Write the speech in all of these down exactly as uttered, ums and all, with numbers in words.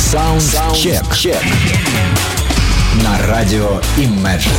Саундчек. На радио Imagine.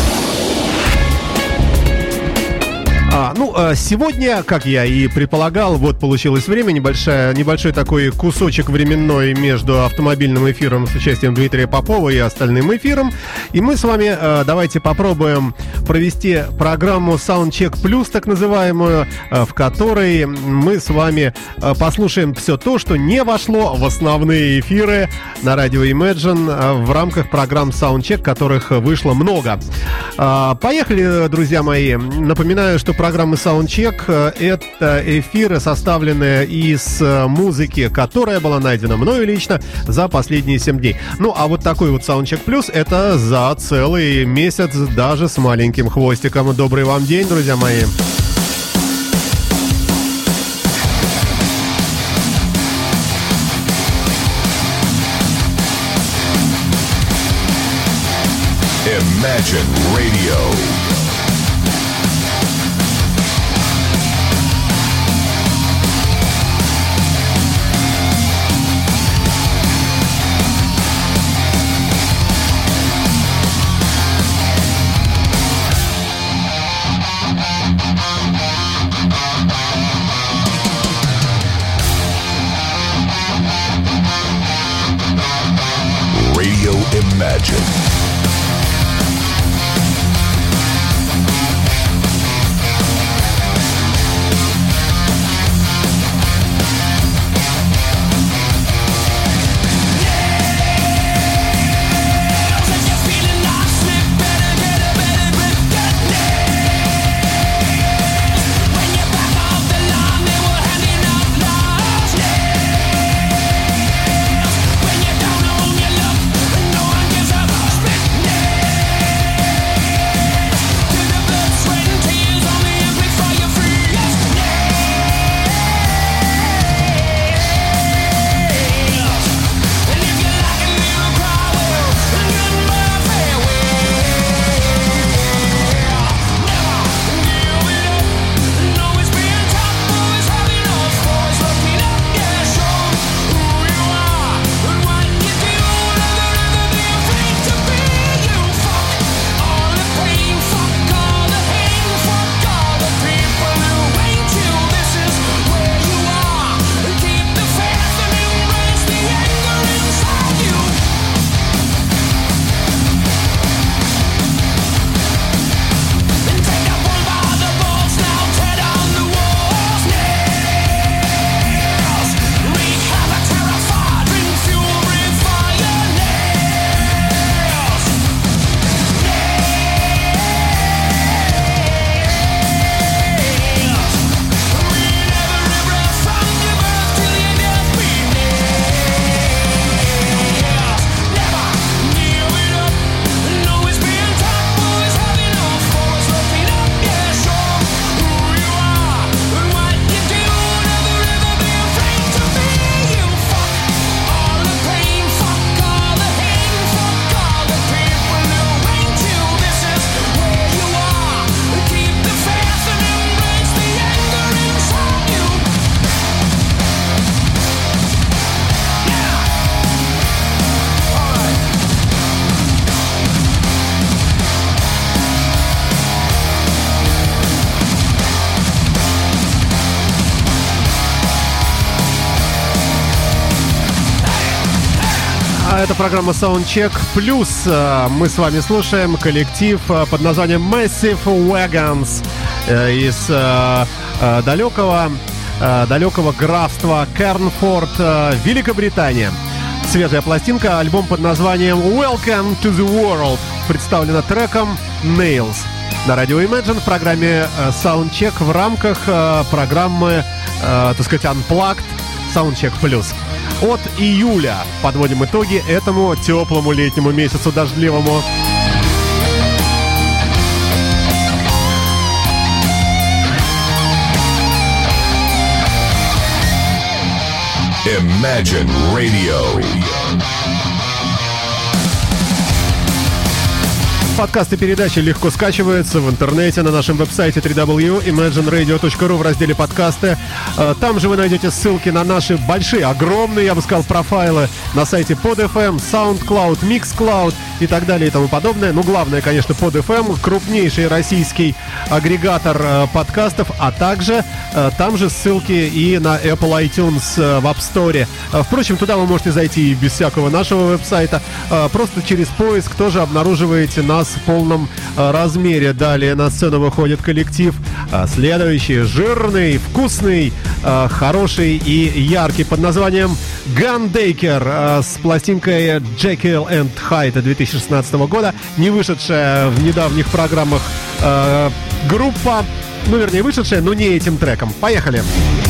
А, ну, сегодня, как я и предполагал, вот получилось время, небольшая, небольшой такой кусочек временной между автомобильным эфиром с участием Дмитрия Попова и остальным эфиром. И мы с вами давайте попробуем провести программу Soundcheck Plus, так называемую, в которой мы с вами послушаем все то, что не вошло в основные эфиры на радио Imagine в рамках программ Soundcheck, которых вышло много. Поехали, друзья мои. Напоминаю, что программы Soundcheck — это эфиры, составленные из музыки, которая была найдена мною лично за последние семь дней. Ну, а вот такой вот Soundcheck Plus — это за целый месяц, даже с маленьким хвостиком. Добрый вам день, друзья мои. Imagine Radio. Radio Imagine. Это программа Soundcheck Plus. Мы с вами слушаем коллектив под названием Massive Wagons из далекого, далекого графства Кернфорд, Великобритания. Свежая пластинка, альбом под названием Welcome to the World, представлена треком Nails на радио Imagine в программе Soundcheck в рамках программы, так сказать, Unplugged Soundcheck Plus. От июля подводим итоги этому теплому летнему месяцу дождливому. Imagine Radio. подкасты передачи легко скачиваются в интернете на нашем веб-сайте дабл ю дабл ю дабл ю точка имэджин радио точка ру в разделе подкасты. Там же вы найдете ссылки на наши большие, огромные, я бы сказал, профайлы на сайте под эф эм, SoundCloud, Mixcloud и так далее и тому подобное. Ну, главное, конечно, под эф эм, крупнейший российский агрегатор подкастов, а также там же ссылки и на Apple iTunes в App Store. Впрочем, туда вы можете зайти и без всякого нашего веб-сайта. Просто через поиск тоже обнаруживаете нас в полном размере. Далее на сцену выходит коллектив следующий, жирный, вкусный, хороший и яркий, под названием Gundaker с пластинкой Jekyll and Hyde две тысячи шестнадцатого года, не вышедшая в недавних программах э, группа, ну вернее вышедшая, но не этим треком. Поехали!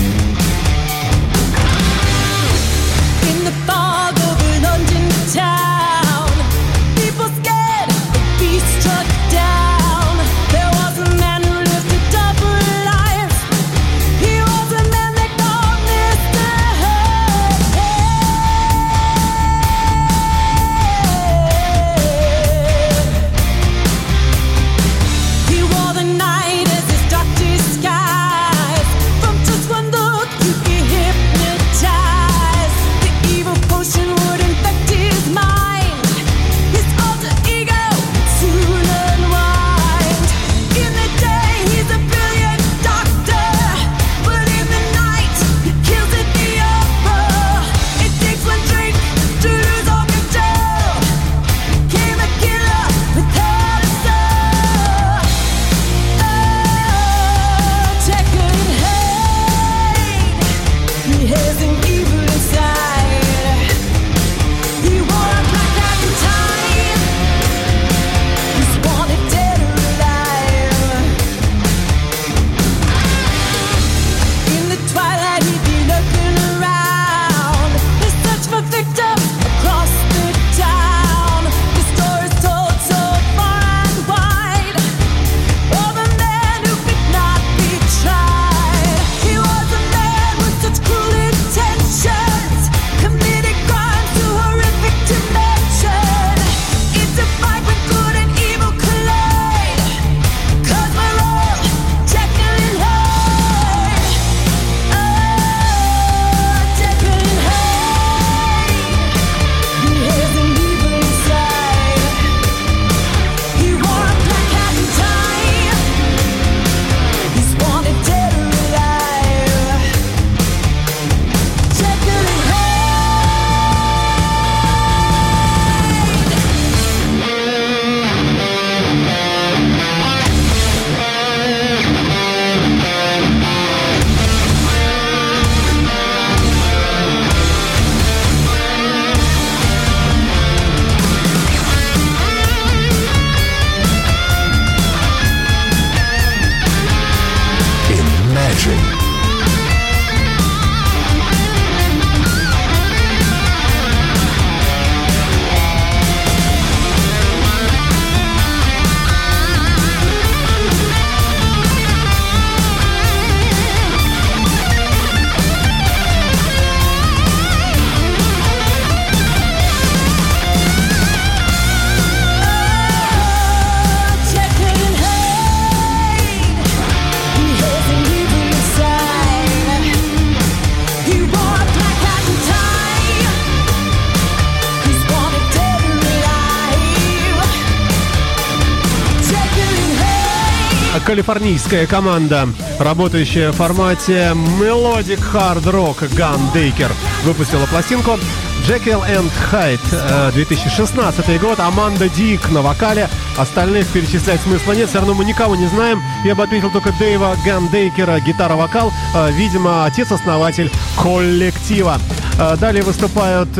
Калифорнийская команда, работающая в формате Melodic Hard Rock, Gundaker, выпустила пластинку Jekyll and Hyde, две тысячи шестнадцатый год, Аманда Дик на вокале, остальных перечислять смысла нет, все равно мы никого не знаем, я бы отметил только Дэйва Гандейкера, гитара-вокал, видимо, отец-основатель коллектива. Далее выступают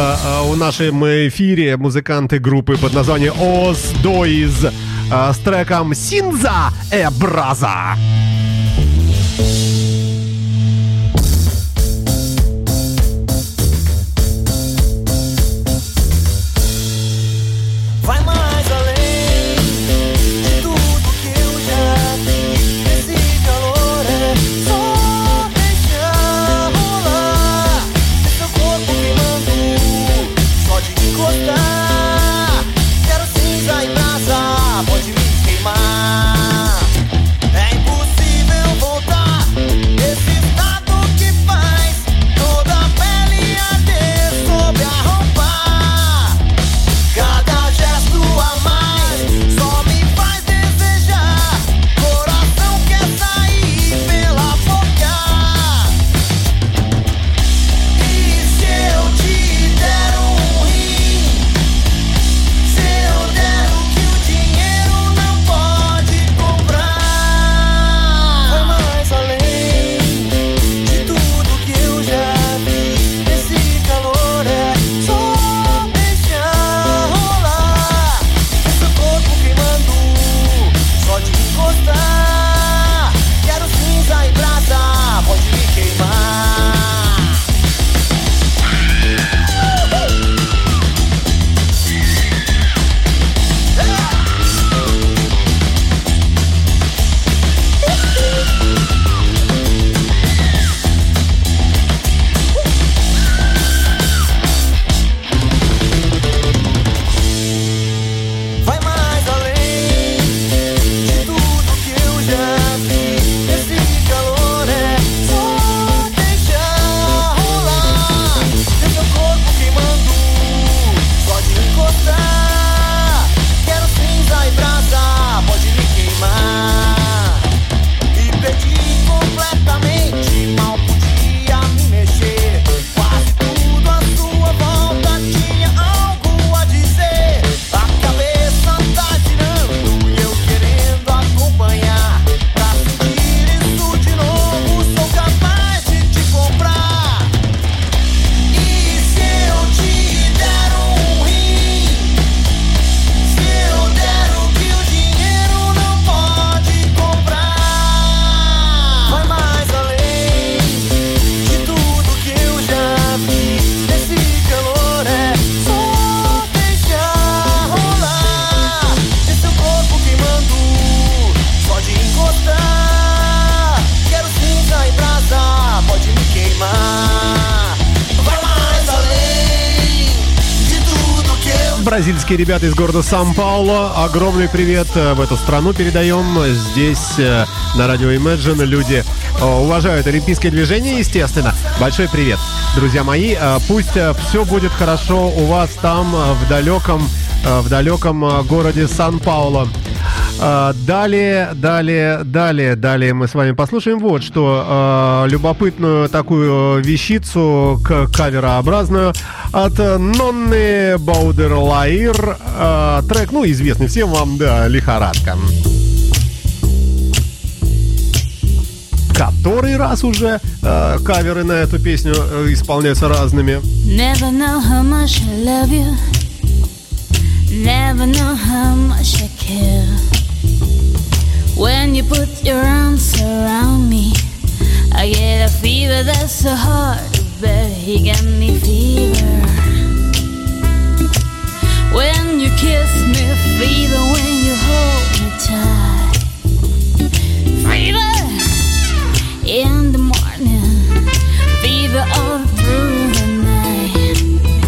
в нашем эфире музыканты группы под названием Os Dois с треком «Синза э Браза». Quero cinza e brasa. Бразильские ребята из города Сан-Пауло. Огромный привет в эту страну передаем. Здесь на радио Imagine люди уважают олимпийское движение, естественно. Большой привет, друзья мои. Пусть все будет хорошо у вас там, в далеком, в далеком городе Сан-Пауло. Далее, далее, далее, далее мы с вами послушаем вот что. Э, любопытную такую вещицу, к- каверообразную от Нонны Баудерлаир. Э, трек, ну, известный всем вам, да, «Лихорадка». Который раз уже э, каверы на эту песню э, исполняются разными. Never know how much I love you. Never know how much I care. When you put your arms around me, I get a fever that's so hard to bear. You get me fever. When you kiss me, fever. When you hold me tight, fever. In the morning, fever all through the night.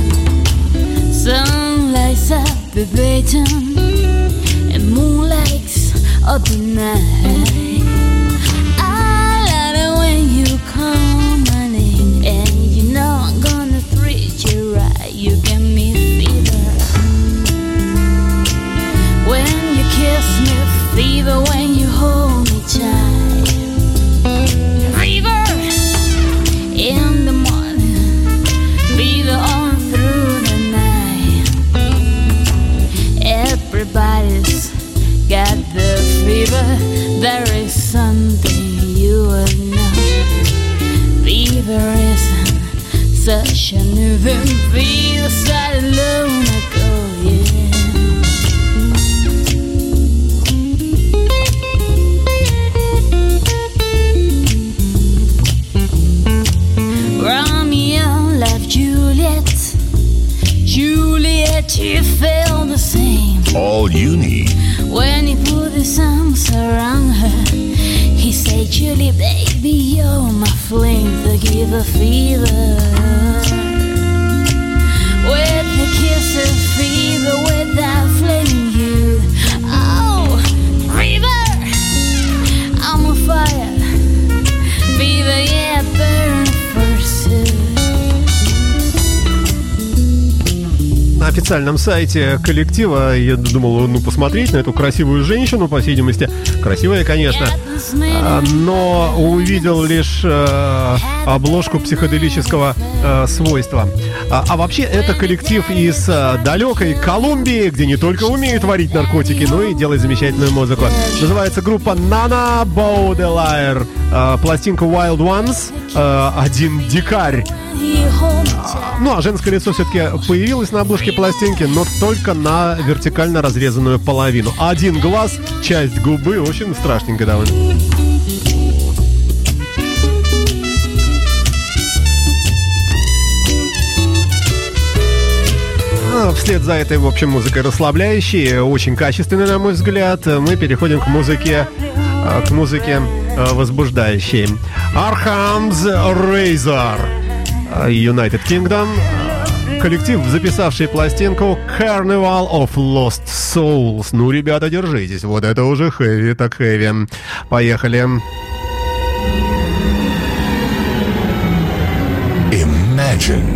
Sun lights up the Brighton, and moon lights up the night. I love it when you call my name, and you know I'm gonna treat you right. You give me fever. When you kiss me, fever. When you hold me tight, fever. In the morning, fever all through the night. Everybody's got the fever. There is something you would know. Fever isn't such a new thing. Fever started long ago, yeah. Romeo loved Juliet. Juliet, you felt the same. All you need. When he put his arms around her, he said, Julie, baby, you're my flame to give a fever. With a kiss of fever, without flaming you. Oh, fever, I'm on fire. Fever, yeah, burn first. На официальном сайте коллектива я думал, ну, посмотреть на эту красивую женщину, по всей видимости, красивая, конечно, но увидел лишь э, обложку психоделического э, свойства. А, а вообще это коллектив из э, далекой Колумбии, где не только умеют варить наркотики, но и делать замечательную музыку. Называется группа Nonna Baudelaire. Э, пластинка Wild Ones, э, один дикарь. Ну, а женское лицо все-таки появилось на обложке пластинки, но только на вертикально разрезанную половину. Один глаз, часть губы, в общем, страшненько довольно. Вслед за этой, в общем, музыкой расслабляющей, очень качественной, на мой взгляд, мы переходим к музыке, к музыке возбуждающей. Arkham's Razor, United Kingdom, коллектив, записавший пластинку Carnival of Lost Souls. Ну, ребята, держитесь, вот это уже хэви, так хэви. Поехали. Imagine.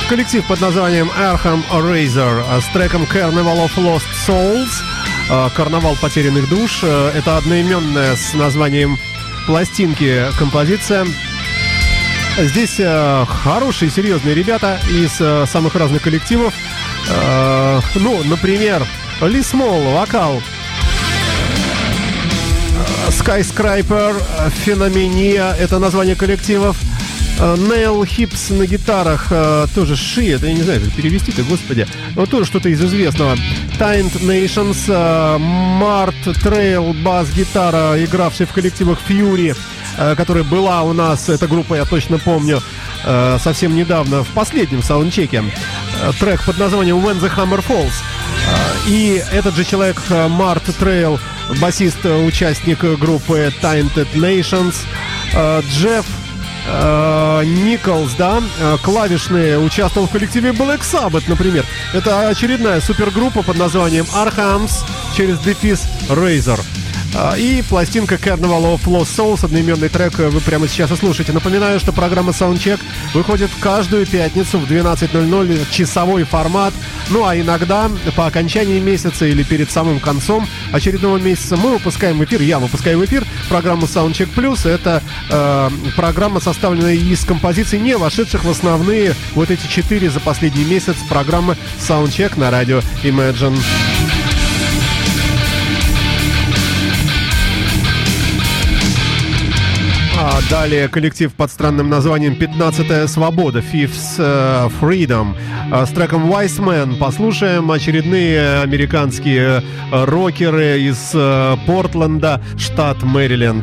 Коллектив под названием Arkham Razor с треком Carnival of Lost Souls, Карнавал потерянных душ. Это одноименная с названием пластинки композиция. Здесь хорошие, серьезные ребята из самых разных коллективов. Ну, например, Ли Смол, вокал, Skyscraper, Феномения, это название коллективов. Нейл Хипс на гитарах, тоже Ши, это я не знаю, как перевести-то, господи. Но тоже что-то из известного. Taint Nations, Март Трейл, бас-гитара, игравший в коллективах Fury, которая была у нас, эта группа, я точно помню, совсем недавно, в последнем саундчеке. Трек под названием When the Hammer Falls. И этот же человек, Март Трейл, басист, участник группы Tainted Nations. Джефф Николс, да, клавишный, участвовал в коллективе Black Sabbath, например. Это очередная супергруппа под названием Arkhams через дефис Razor. И пластинка Carnival of Lost Souls, одноименный трек, вы прямо сейчас и слушаете. Напоминаю, что программа Soundcheck выходит каждую пятницу в двенадцать ноль ноль, часовой формат. Ну а иногда по окончании месяца или перед самым концом очередного месяца мы выпускаем в эфир, я выпускаю в эфир программу Soundcheck Plus. Это э, программа, составленная из композиций, не вошедших в основные вот эти четыре за последний месяц программы Soundcheck на радио Imagine. А далее коллектив под странным названием «пятнадцатая свобода», Fifth uh, Freedom, uh, с треком Wise Man. Послушаем очередные американские uh, рокеры из uh, Портленда, штат Мэриленд.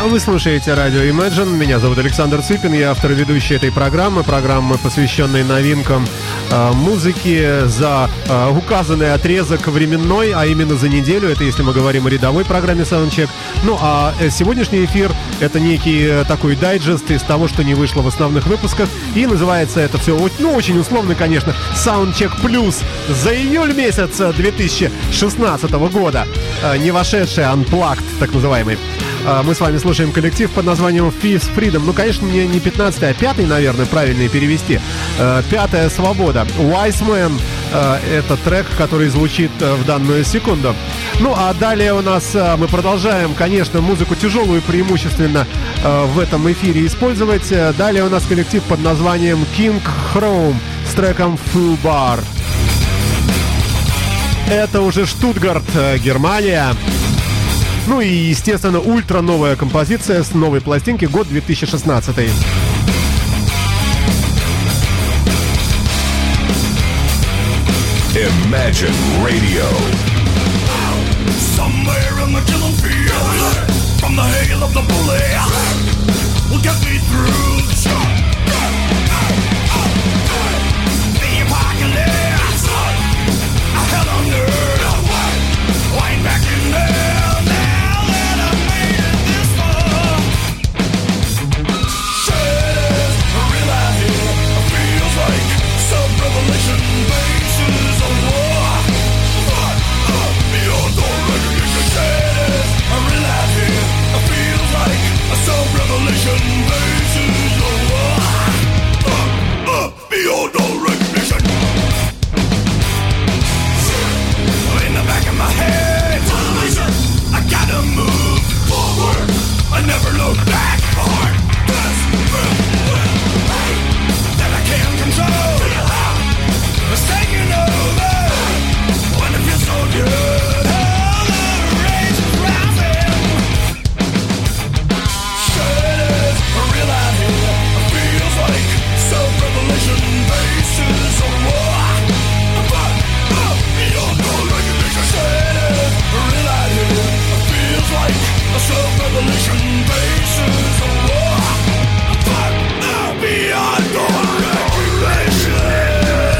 Вы слушаете радио Imagine. Меня зовут Александр Цыпин. Я автор и ведущий этой программы. Программы, посвященной новинкам э, музыки за э, указанный отрезок временной, а именно за неделю. Это если мы говорим о рядовой программе Soundcheck. Ну, а сегодняшний эфир — это некий э, такой дайджест из того, что не вышло в основных выпусках. И называется это все, ну, очень условно, конечно, Soundcheck Plus за июль месяц две тысячи шестнадцатого года. Э, не вошедший Unplugged, так называемый. Мы с вами слушаем коллектив под названием Fifth Freedom. Ну, конечно, не, не пятнадцатый, а пятый, наверное, правильно перевести. Пятая свобода. Wise Man. Это трек, который звучит в данную секунду. Ну, а далее у нас мы продолжаем, конечно, музыку тяжелую преимущественно в этом эфире использовать. Далее у нас коллектив под названием King Chrome с треком Full Bar. Это уже Штутгарт, Германия. Ну и, естественно, ультра новая композиция с новой пластинки, год две тысячи шестнадцатый. Imagine Radio. Somewhere in the killing field, from the hail of the bullet, will get me through the shot. The apocalypse, a hell on earth, lying back in there. Beyond all recognition. In the back of my head, I gotta move forward. I never look back. Hard, that I can't control. It's taking over when it feels so good. All the rage is rising. Shit is real out here. It feels like self-revelation. Bases of war, but uh, beyond all recognition. Shit is real out here. It feels like a self-revelation. Bases of war, but uh, beyond all recognition.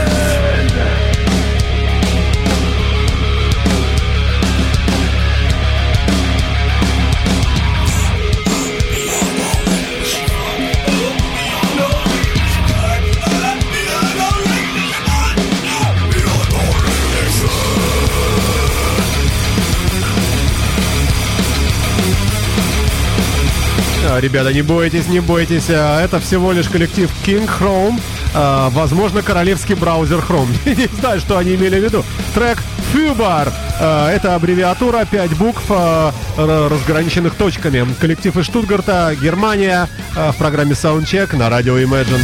Ребята, не бойтесь, не бойтесь. Это всего лишь коллектив King Chrome. Возможно, королевский браузер Chrome. Не знаю, что они имели в виду. Трек Fubar. Это аббревиатура, пять букв, разграниченных точками. Коллектив из Штутгарта, Германия. В программе Soundcheck на радио Imagine.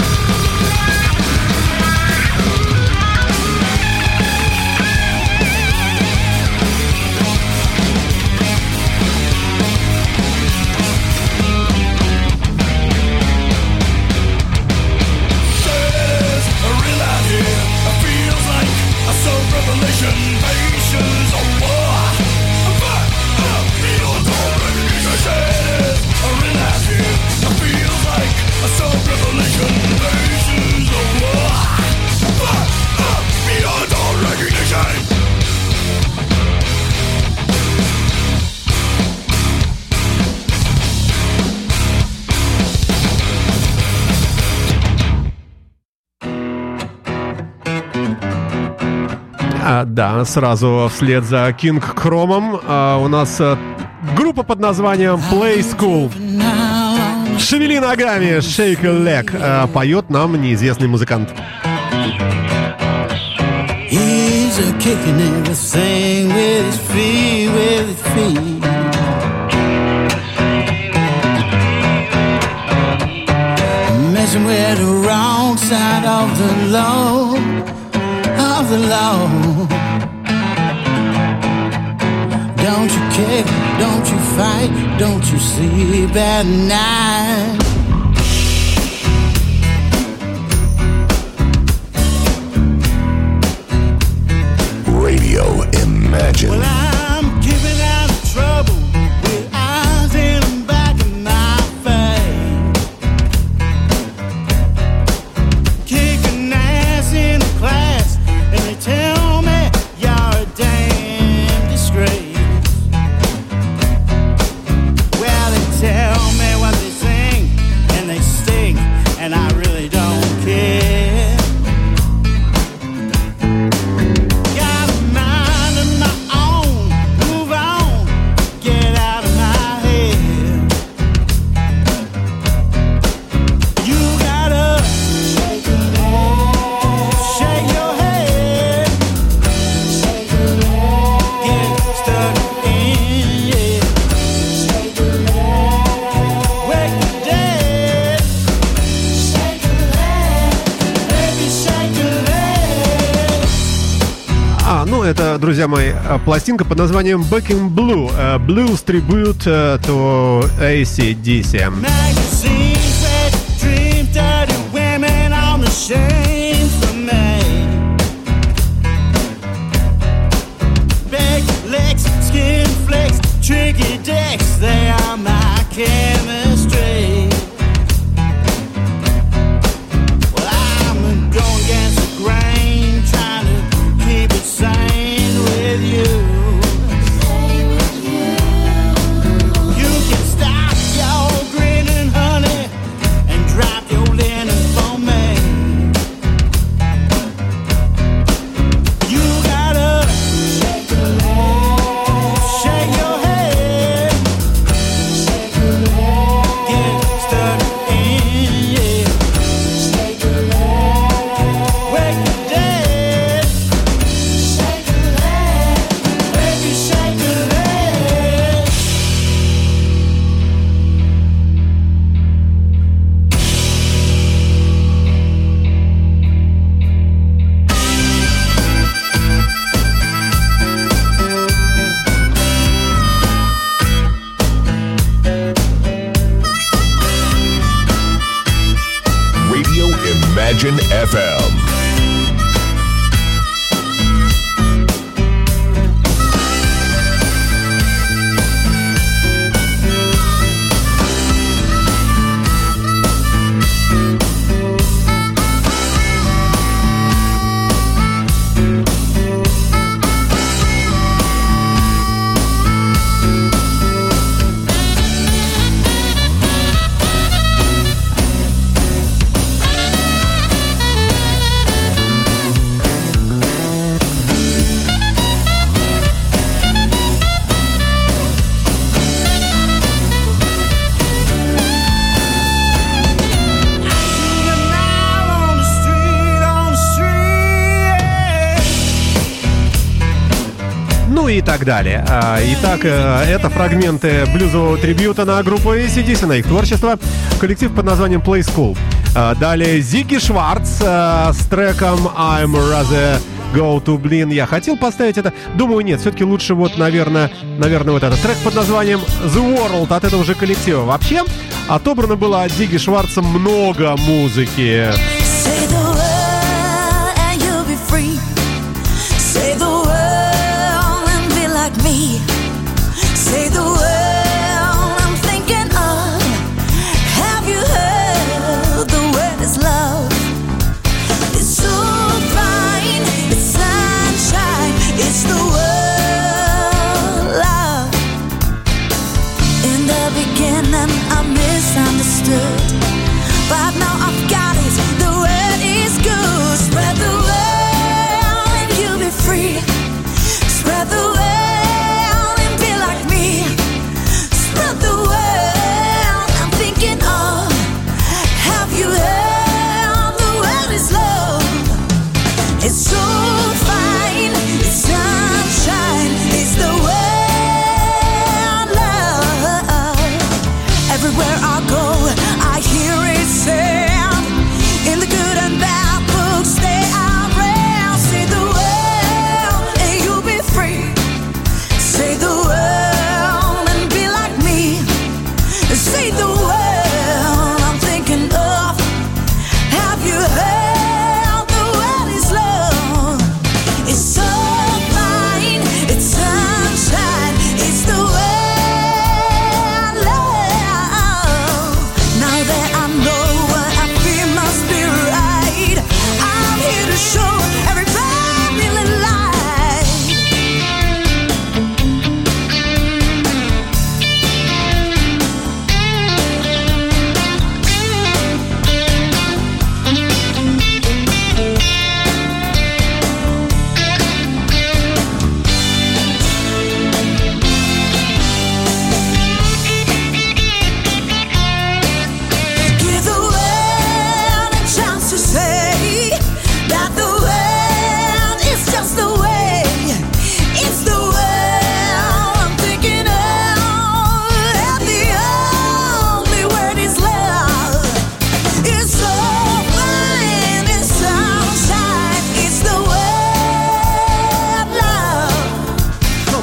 А, да, сразу вслед за King Chrome а, у нас а, группа под названием Play School. Шевели ногами, shake a leg. А, поет нам неизвестный музыкант. He's a kicking everything with his feet, with his feet. Messing with the wrong side of the law, of the law. Don't you kick, don't you fight, don't you sleep at night. Radio Imagine. Well, I'm keeping out of trouble with eyes in the back Ну, это, друзья мои, пластинка под названием Back in Blue. Blues Tribute to эй си ди си. Magazines that dream dirty women on the shame for me. Big legs, skin flicks, tricky dicks, they are my chemistry. Well, I'm going against the grain, trying to keep it sane with you. You can stop your grinning, honey, and drop your linen for me. You gotta shake your leg, shake your head, shake your leg, get stuck in, yeah. Shake your leg, wake the dead. Shake your leg, baby, shake your leg. Radio Imagine эф эм. Ну и так далее. А, Итак, э, это фрагменты блюзового трибьюта на группу эй си ди си, на их творчество. Коллектив под названием Play School. А, Далее Зигги Шварц э, с треком I'm Rather Go to Blin. Я хотел поставить это, думаю, нет, все-таки лучше вот, наверное, наверное, вот этот трек под названием The World от этого же коллектива. Вообще, отобрано было от Зигги Шварца много музыки. Say the word and you'll be free. Say the word and be like me. Say the word I'm thinking of. Have you heard the word is love? It's so fine, it's sunshine, it's the word love. In the beginning I misunderstood, but now I've got it. The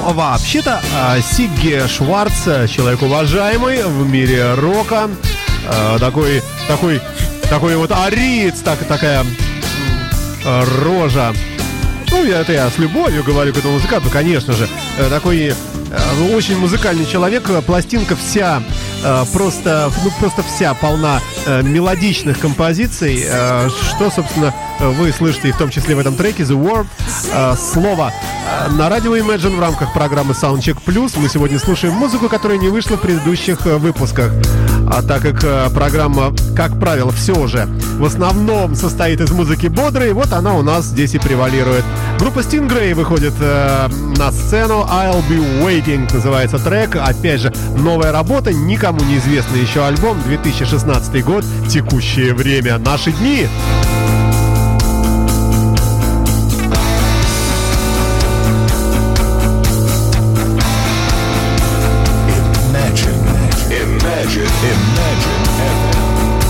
вообще-то, э, Сигги Шварц, человек уважаемый в мире рока, э, такой, такой, такой вот ариец, так, такая э, рожа. Ну, я, это я с любовью говорю к этому музыканту, конечно же. Э, такой э, очень музыкальный человек. Пластинка вся, э, просто, ну, просто вся полна э, мелодичных композиций, э, что, собственно, вы слышите и в том числе в этом треке The Word. Э, слово э, на радио Imagine в рамках программы Soundcheck Plus. Мы сегодня слушаем музыку, которая не вышла в предыдущих э, выпусках. А так как э, программа, как правило, все же в основном состоит из музыки бодрой, вот она у нас здесь и превалирует. Группа Stingray выходит э, на сцену. I'll Be Waiting называется трек. Опять же, новая работа, никому неизвестный еще альбом. две тысячи шестнадцатый год, текущее время, наши дни. Imagine, Imagine эф эм.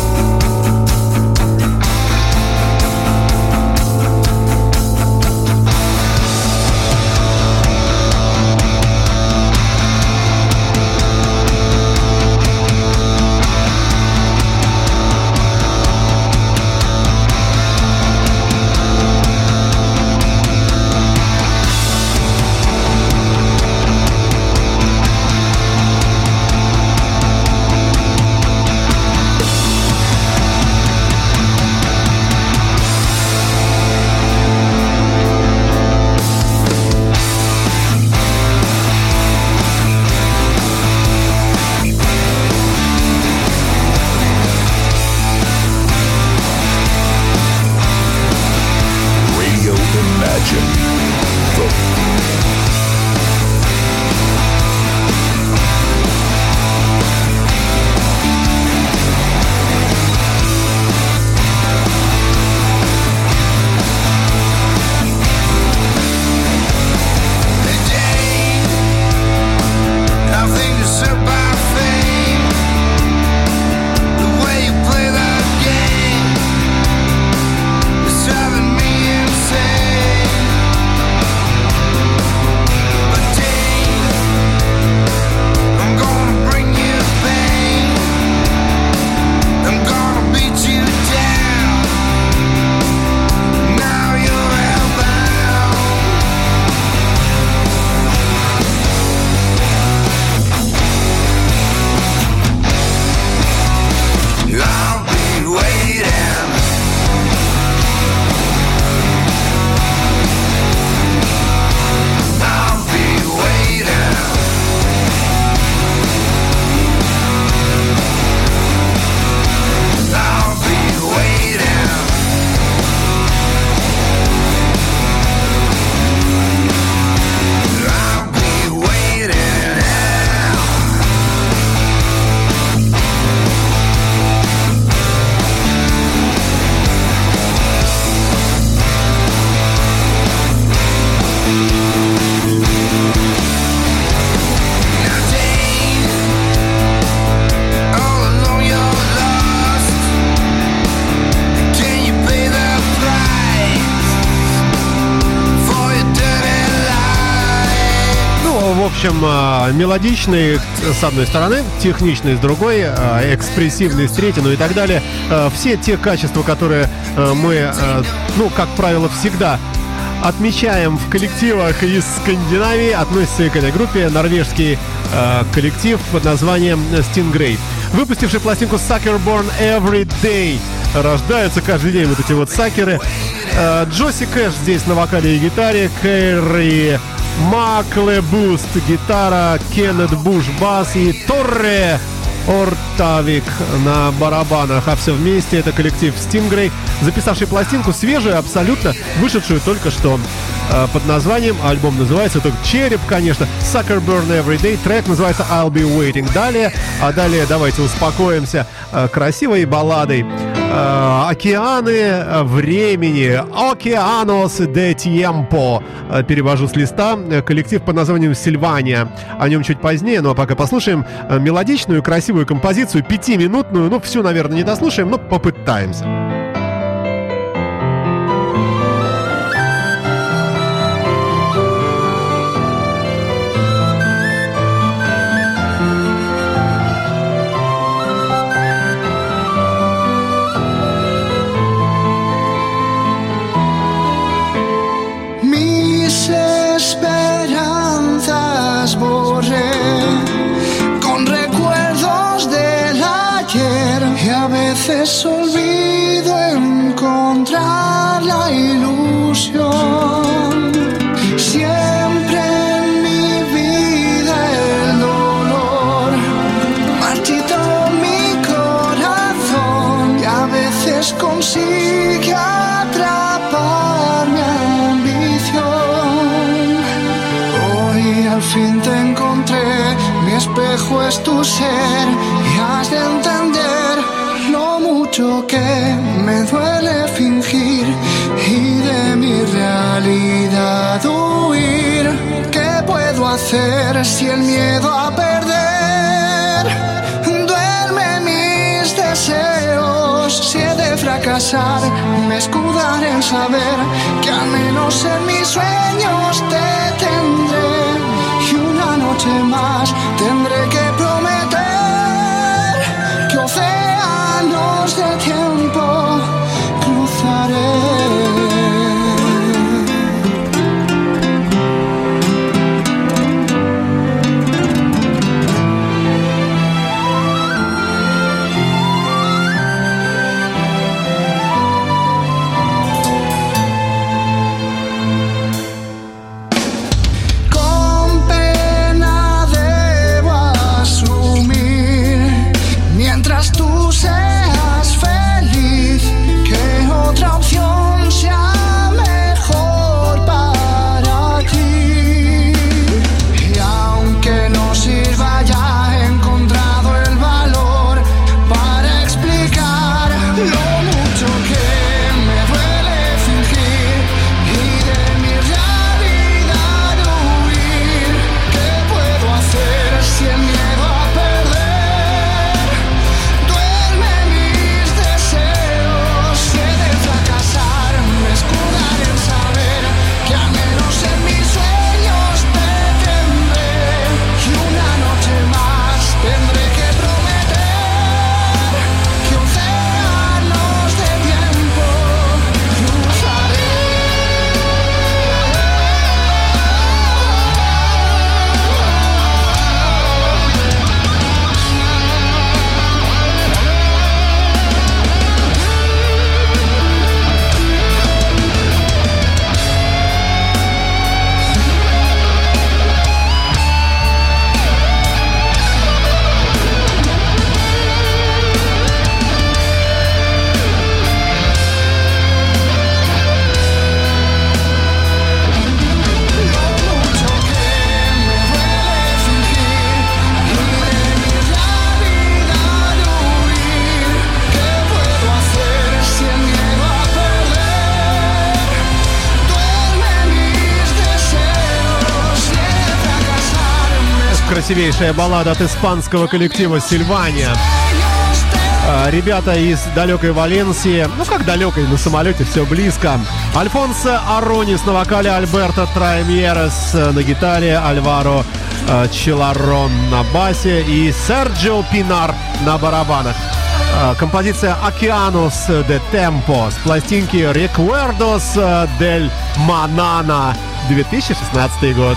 В общем, мелодичный с одной стороны, техничный с другой, экспрессивный с третьей, ну и так далее. Все те качества, которые мы, ну, как правило, всегда отмечаем в коллективах из Скандинавии, относится к этой группе норвежский коллектив под названием Stingray, выпустивший пластинку Sucker Born Every Day. Рождаются каждый день вот эти вот сакеры. Джоси Кэш здесь на вокале и гитаре, Кэрри Маклебуст гитара, Кеннет Буш бас и Торре Ортавик на барабанах. А все вместе это коллектив Stingray, записавший пластинку свежую, абсолютно вышедшую только что, под названием, альбом называется, только череп, конечно, Sucker Burn Every Day, трек называется I'll Be Waiting. Далее, а далее давайте успокоимся красивой балладой «Океаны времени», «Океанос де Tiempo», перевожу с листа, коллектив под названием «Сильвания». О нем чуть позднее, ну а пока послушаем мелодичную, красивую композицию, пятиминутную, ну всю, наверное, не дослушаем, но попытаемся. veces olvido encontrar la ilusión. Siempre en mi vida el dolor marchitó mi corazón y a veces consigue atrapar mi ambición. Hoy al fin te encontré, mi espejo es tu ser y has de entender lo mucho que me duele fingir y de mi realidad huir. ¿Qué puedo hacer si el miedo a perder duerme mis deseos? Si he de fracasar, me escudaré en saber que al menos en mis sueños te tendré. Y una noche más tendré que prometer que océanos de tiempo cruzaré. Красивейшая баллада от испанского коллектива «Сильвания». А, ребята из далекой Валенсии, ну как далекой, на самолете все близко. Альфонсо Аронис на вокале, Альберто Траймьерес на гитаре, Альваро а, Чиларрон на басе и Серджио Пинар на барабанах. А, композиция «Океанус де Темпо» с пластинки «Recuerdos del Manana», две тысячи шестнадцатый год.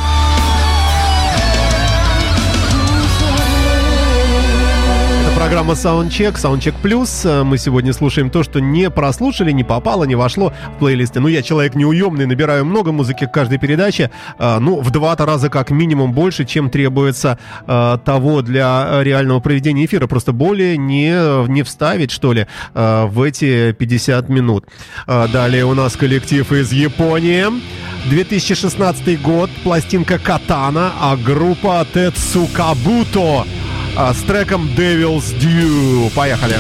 Программа Soundcheck, Soundcheck Plus. Мы сегодня слушаем то, что не прослушали, не попало, не вошло в плейлисты. Ну, я человек неуемный, набираю много музыки к каждой передаче. Ну, в два-то раза как минимум больше, чем требуется того для реального проведения эфира. Просто более не, не вставить, что ли, в эти пятьдесят минут. Далее у нас коллектив из Японии. две тысячи шестнадцатый год, пластинка «Катана», а группа «Тецукабуто» с треком Devil's Due. Поехали!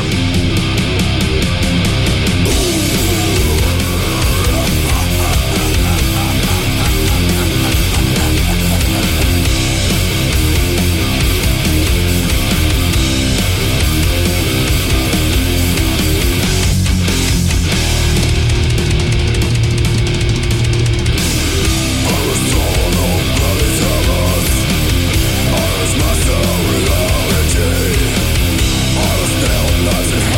Doesn't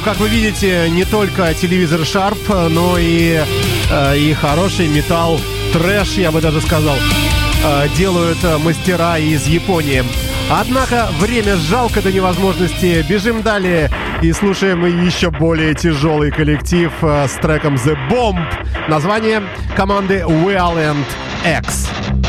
как вы видите, не только телевизор Sharp, но и, э, и хороший металл, трэш, я бы даже сказал, э, делают мастера из Японии. Однако время жалко до невозможности. Бежим далее и слушаем еще более тяжелый коллектив э, с треком The Bomb. Название команды Violent X.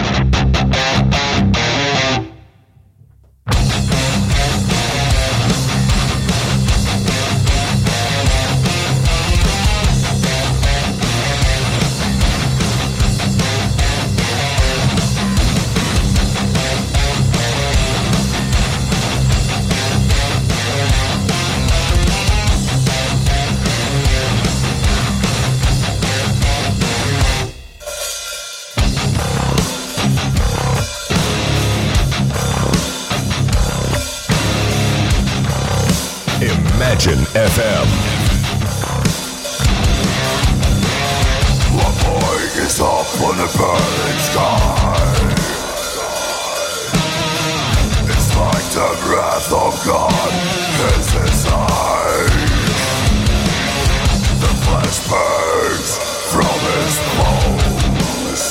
Imagine эф эм. One boy is up on the burning sky. It's like the wrath of God is inside. The flesh burns from his bones.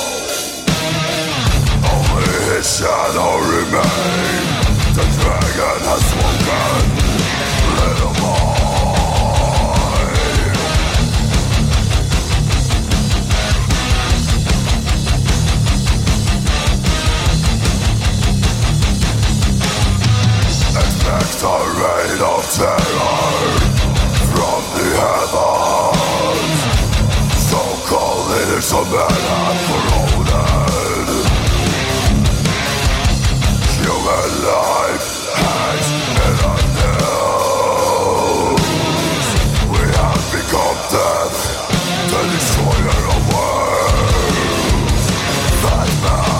Only his shadow remains. The dragon has spoken. Little boy. Expect a rain of terror from the heavens. So-called leaders of men have corroded. Human life hangs in a news. We have become death, the destroyer of worlds. That man.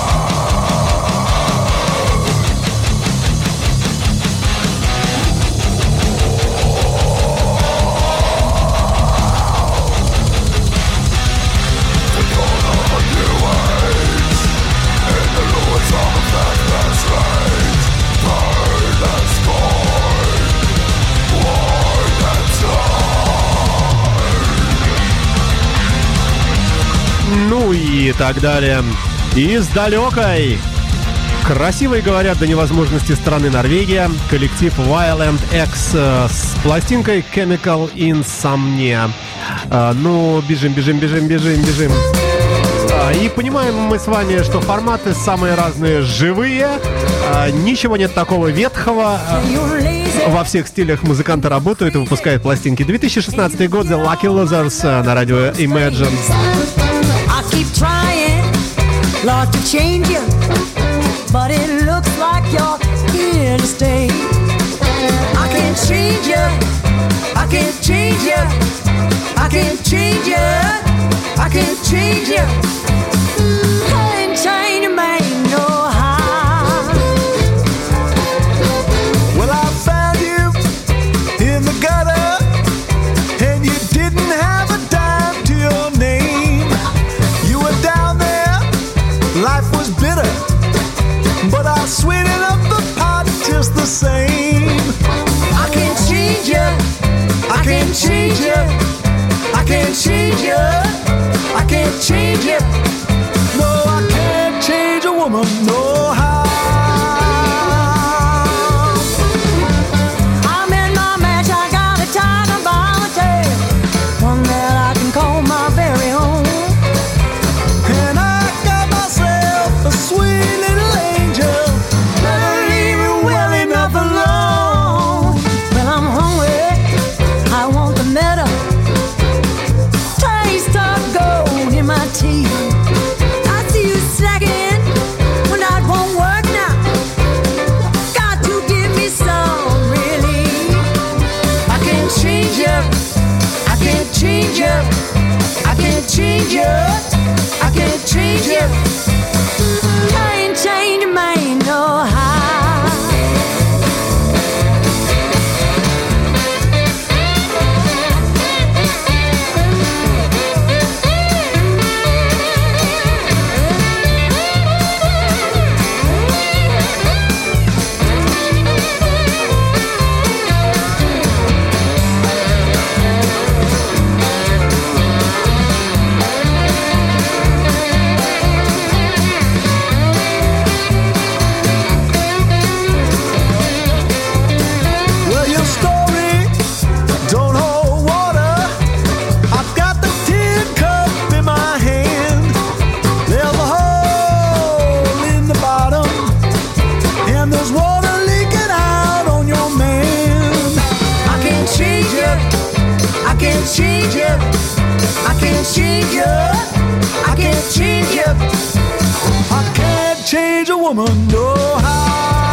Ну и так далее. Из далекой, красивой, говорят, до невозможности страны Норвегия, коллектив Violent X э, с пластинкой Chemical Insomnia. Э, ну, бежим, бежим, бежим, бежим, бежим. Э, и понимаем мы с вами, что форматы самые разные, живые. Э, ничего нет такого ветхого. Э, во всех стилях музыканты работают и выпускают пластинки. две тысячи шестнадцатый год, The Lucky Losers э, на радио Imagine. Keep trying, Lord, to change you, but it looks like you're here to stay. I can't change you, I can't change you, I can't change you, I can't change you. Can't change you, man, no how. Well, I found you in the gutter, and you didn't have a dime to your name. Down there, life was bitter, but I sweetened up the pot just the same. I can't change you, I can't change you, I can't change you, I can't change you. No, I can't change a woman, no how. I'm in my match, I got a tiger by my tail, one that I can call my very own. A sweet little angel, never leave me well enough alone. When I'm hungry, I want the meadow, taste of gold in my teeth. I see you slacking when I won't work now. Got to give me some relief. I can't change you, I can't change you, I can't change you, I can't change you. Can't change a man, no how. change you. I can't change you. I can't change you. I can't change a woman, no how.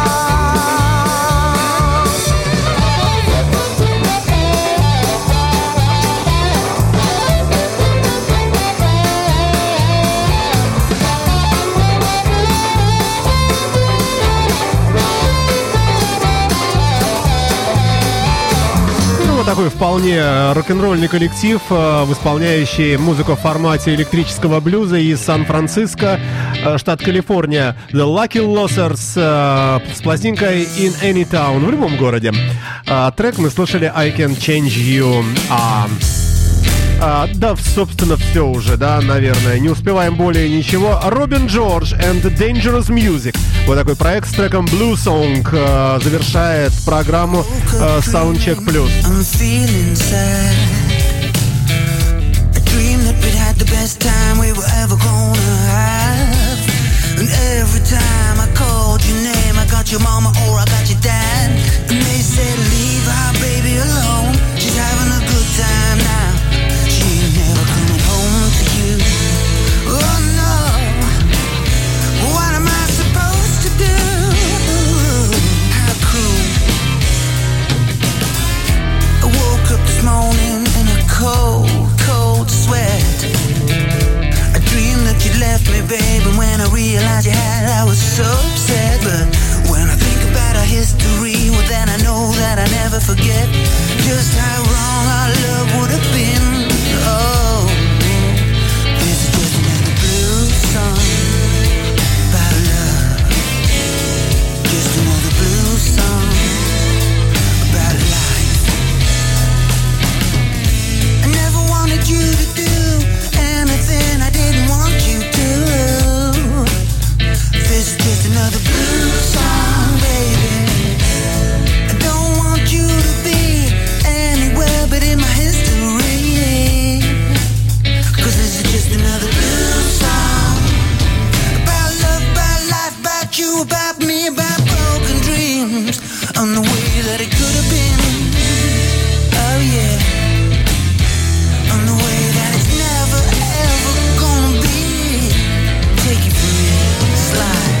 Такой вполне рок-н-ролльный коллектив, э, исполняющий музыку в формате электрического блюза из Сан-Франциско, э, штат Калифорния. The Lucky Losers э, с пластинкой In Any Town в любом городе. Э, трек мы слушали I Can Change You. А, а, да, собственно, все уже, да, наверное. Не успеваем более ничего. Робин Джордж and Dangerous Music. Вот такой проект с треком Blue Song э, завершает программу э, Soundcheck Plus. I'm feeling sad. I dreamed that we'd had the best time we were ever gonna have. And every time I called your name, I got your mama or I got your dad. And they said leave our baby alone. She's having a good time now. She ain't never coming home to you. Oh no. What am I supposed to do? How cruel. I woke up this morning in a cold, cold sweat. I dreamed that you left me, babe, and when I realized you had, I was so upset. But when I think about our history, well then I know that I never forget just how wrong our love would have been. Oh, this is just another blues song about love. Just another blues song about life. I never wanted you to do anything I didn't want you to. This is just another blues song, baby. I don't want you to be anywhere but in my history. Cause this is just another blues song about love, about life, about you, about me, about broken dreams on the way that it could have been. Oh yeah. On the way that it's never ever gonna be. Take it from me, slide.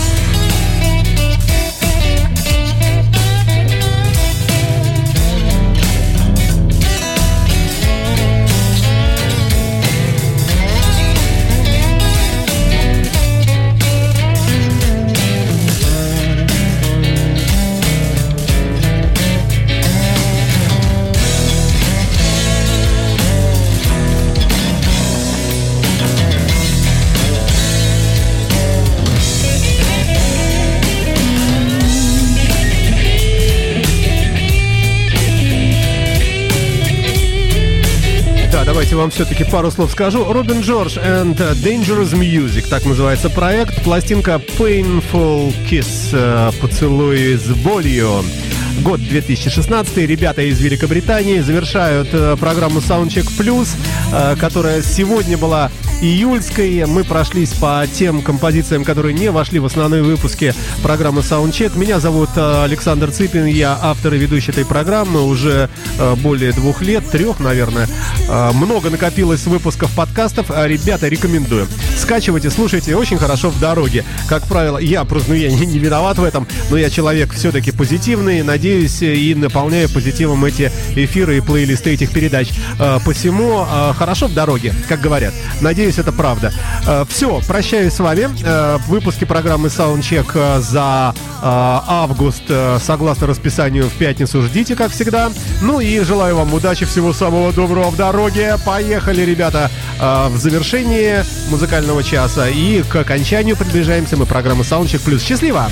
Давайте вам все-таки пару слов скажу. Робин Джордж and Dangerous Music, так называется проект. Пластинка Painful Kiss, поцелуй с болью. Год две тысячи шестнадцатый. Ребята из Великобритании завершают программу Soundcheck Plus, которая сегодня была июльской. Мы прошлись по тем композициям, которые не вошли в основные выпуски программы Soundcheck. Меня зовут Александр Цыпин, я автор и ведущий этой программы уже более двух лет, трех, наверное. Много накопилось выпусков подкастов. Ребята, рекомендую. Скачивайте, слушайте, очень хорошо в дороге. Как правило, я просто, ну, я не, не виноват в этом, но я человек все-таки позитивный, надеюсь, и наполняю позитивом эти эфиры и плейлисты этих передач. Посему хорошо в дороге, как говорят. Надеюсь, это правда. Все, прощаюсь с вами. Выпуски программы Soundcheck за август, согласно расписанию, в пятницу ждите, как всегда. Ну и желаю вам удачи, всего самого доброго в дороге. Поехали, ребята, в завершении музыкального часа. И к окончанию приближаемся мы программы Soundcheck Plus. Счастливо!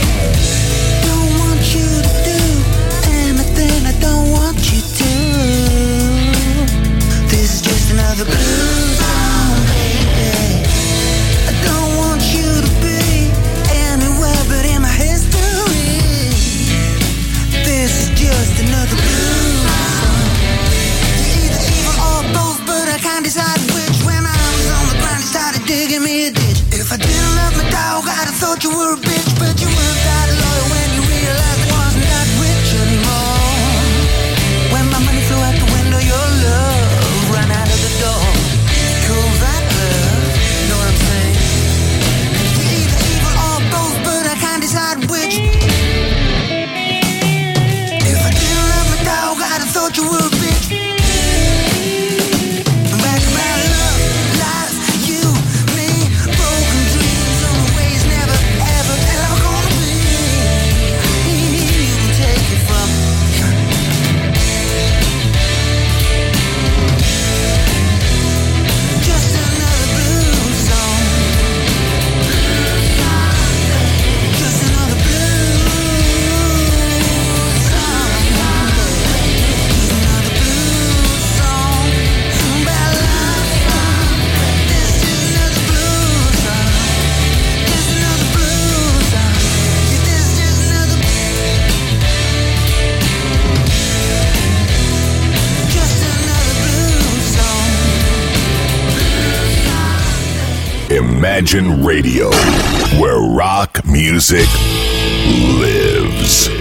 You were a bitch, but you weren't that loyal when you realized I wasn't that rich anymore. When my money flew out the window, your love Imagine Radio, where rock music lives.